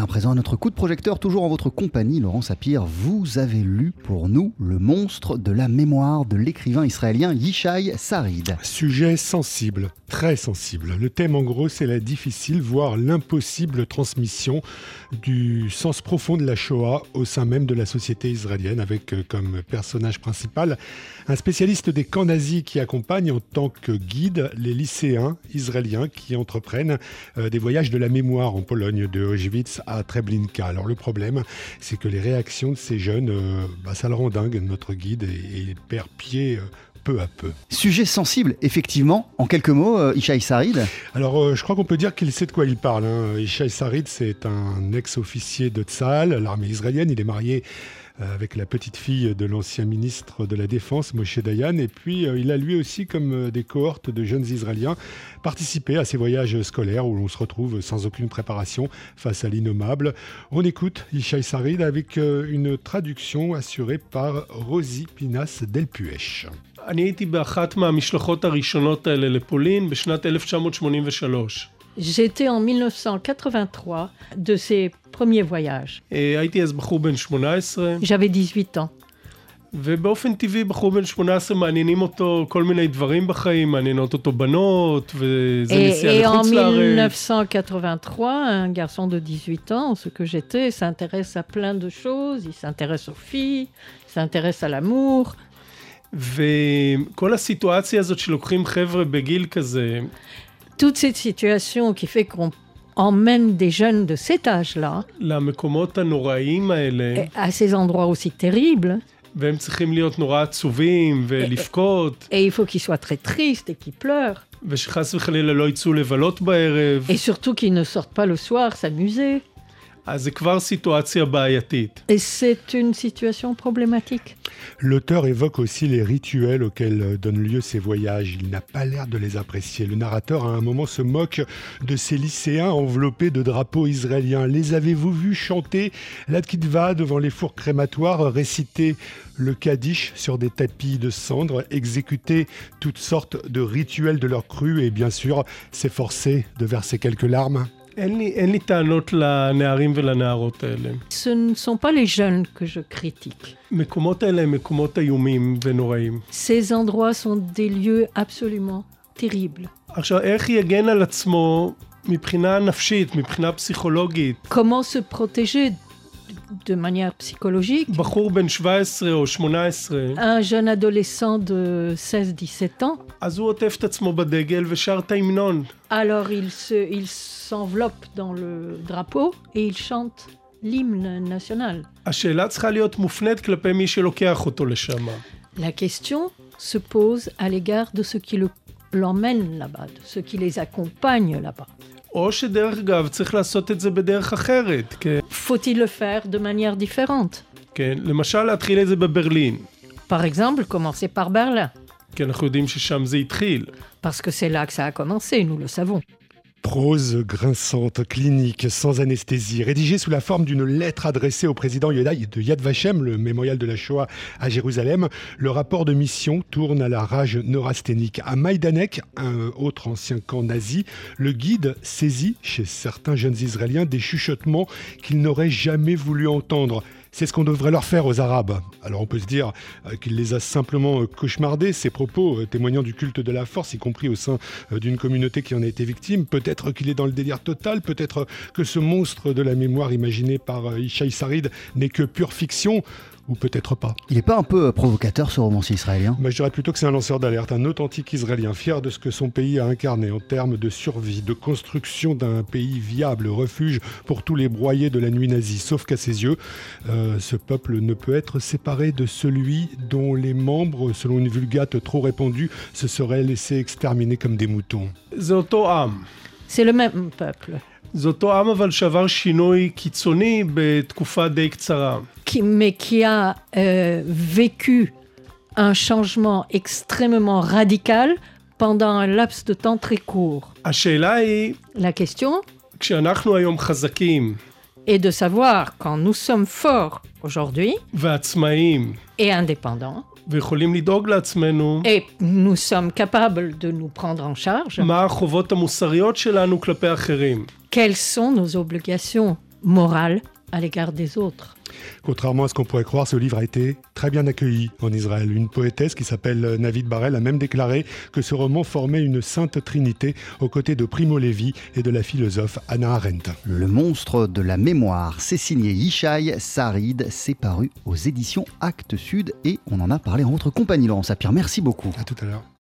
à présent à notre coup de projecteur, toujours en votre compagnie, Laurent Sapir. Vous avez lu pour nous Le monstre de la mémoire de l'écrivain israélien Yishai Sarid. Sujet sensible, très sensible. Le thème en gros, c'est la difficile, voire l'impossible transmission du sens profond de la Shoah au sein même de la société israélienne, avec comme personnage principal un spécialiste des camps nazis qui accompagne en tant que guide les lycéens israéliens qui entreprennent des voyages de la mémoire en Pologne, de Auschwitz à Treblinka. Alors le problème, c'est que les réactions de ces jeunes, ça le rend dingue, notre guide, et il perd pied peu à peu. Sujet sensible, effectivement. En quelques mots, Yishai Sarid. Alors, je crois qu'on peut dire qu'il sait de quoi il parle. Yishai Sarid, c'est un ex-officier de Tsahal, l'armée israélienne. Il est marié avec la petite fille de l'ancien ministre de la Défense, Moshe Dayan. Et puis, il a lui aussi, comme des cohortes de jeunes Israéliens, participé à ces voyages scolaires où l'on se retrouve sans aucune préparation face à l'innommable. On écoute Yishai Sarid avec une traduction assurée par Rosie Pinas Delpuech. אני הייתי באחת מהמשלחות הראשונות האלה לפולין בשנת 1983. J'étais en 1983 de ces premiers voyages. הייתי אז בחור בן 18, J'avais 18 ans. ובאופן טבעי בחור בן 18 מעניינים אותו כל מיני דברים בחיים, מעניינות אותו בנות, וזה נסיעה לחוץ לארץ. Et en 1983, un garçon de 18 ans, ce que j'étais, s'intéresse à plein de choses. Il s'intéresse aux filles, il s'intéresse à l'amour. וכל הסיטואציה הזאת שלוקחים חבר'ה בגיל כזה, Toute cette situation qui fait qu'on emmène des jeunes de cet âge-là למקומות הנוראיים האלה, à ces endroits aussi terribles, והם צריכים להיות נורא עצובים ולבכות, et il faut qu'ils soient très tristes et qu'ils pleurent, ושחס וחלילה לא יצאו לבלות בערב, et surtout qu'ils ne sortent pas le soir s'amuser. אז זה כבר סיטואציה בעייתית. Et c'est une situation problématique. L'auteur évoque aussi les rituels auxquels donnent lieu ces voyages. Il n'a pas l'air de les apprécier. Le narrateur, à un moment, se moque de ces lycéens enveloppés de drapeaux israéliens. Les avez-vous vus chanter la Tkitva devant les fours crématoires, réciter le Kaddish sur des tapis de cendres, exécuter toutes sortes de rituels de leur crue et bien sûr s'efforcer de verser quelques larmes? אין לי טענות לנערים ולנערות האלה. Ce ne sont pas les jeunes que je critique. מקומות האלה הם מקומות איומים ונוראים. Ces endroits sont des lieux absolument terribles. עכשיו, איך יגן על עצמו מבחינה נפשית, מבחינה פסיכולוגית? Comment se protéger de manière psychologique? בחור בן 17 או 18, Un jeune adolescent de 16-17 ans, אז הוא עוטף את עצמו בדגל ושר את ההמנון. alors il s'enveloppe dans le drapeau et il chante l'hymne national. השאלה צריכה להיות מופנית כלפי מי שלוקח אותו לשם. La question se pose à l'égard de ceux qui l'emmènent là-bas, de ceux qui les accompagnent là-bas. או שדרך אגב צריך לעשות את זה בדרך אחרת. Faut-il le faire de manière différente? כן, למשל להתחיל את זה בברלין. Par exemple, commencer par Berlin, כי אנחנו יודעים ששם זה התחיל. parce que c'est là que ça a commencé, nous le savons. Prose grinçante, clinique, sans anesthésie, rédigée sous la forme d'une lettre adressée au président de Yad Vashem, le mémorial de la Shoah à Jérusalem. Le rapport de mission tourne à la rage neurasthénique. À Maïdanek, un autre ancien camp nazi, le guide saisit chez certains jeunes Israéliens des chuchotements qu'ils n'auraient jamais voulu entendre. C'est ce qu'on devrait leur faire aux Arabes. Alors on peut se dire qu'il les a simplement cauchemardés, ces propos témoignant du culte de la force, y compris au sein d'une communauté qui en a été victime. Peut-être qu'il est dans le délire total, peut-être que ce monstre de la mémoire imaginé par Yishai Sarid n'est que pure fiction, ou peut-être pas. Il n'est pas un peu provocateur, ce romancier israélien? Je dirais plutôt que c'est un lanceur d'alerte, un authentique Israélien, fier de ce que son pays a incarné en termes de survie, de construction d'un pays viable, refuge pour tous les broyés de la nuit nazie. Sauf qu'à ses yeux, ce peuple ne peut être séparé de celui dont les membres, selon une vulgate trop répandue, se seraient laissés exterminer comme des moutons. זה אותו עם. C'est le même peuple, זה אותו עם אבל שעבר שינוי קיצוני בתקופה די קצרה. mais qui a vécu un changement extrêmement radical pendant un laps de temps très court. השאלה היא, La question כשאנחנו היום חזקים est de savoir, quand nous sommes forts aujourd'hui ועצמאיים et indépendants, ויכולים לדאוג לעצמנו, et nous sommes capables de nous prendre en charge, מה החובות המוסריות שלנו כלפי אחרים. quelles sont nos obligations morale à l'égard des autres. Contrairement à ce qu'on pourrait croire, ce livre a été très bien accueilli en Israël. Une poétesse qui s'appelle Navid Barel a même déclaré que ce roman formait une sainte trinité aux côtés de Primo Levi et de la philosophe Hannah Arendt. Le monstre de la mémoire, c'est signé Yishai Sarid, c'est paru aux éditions Actes Sud et on en a parlé en votre compagnie, Laurent Sapir. Merci beaucoup. À tout à l'heure.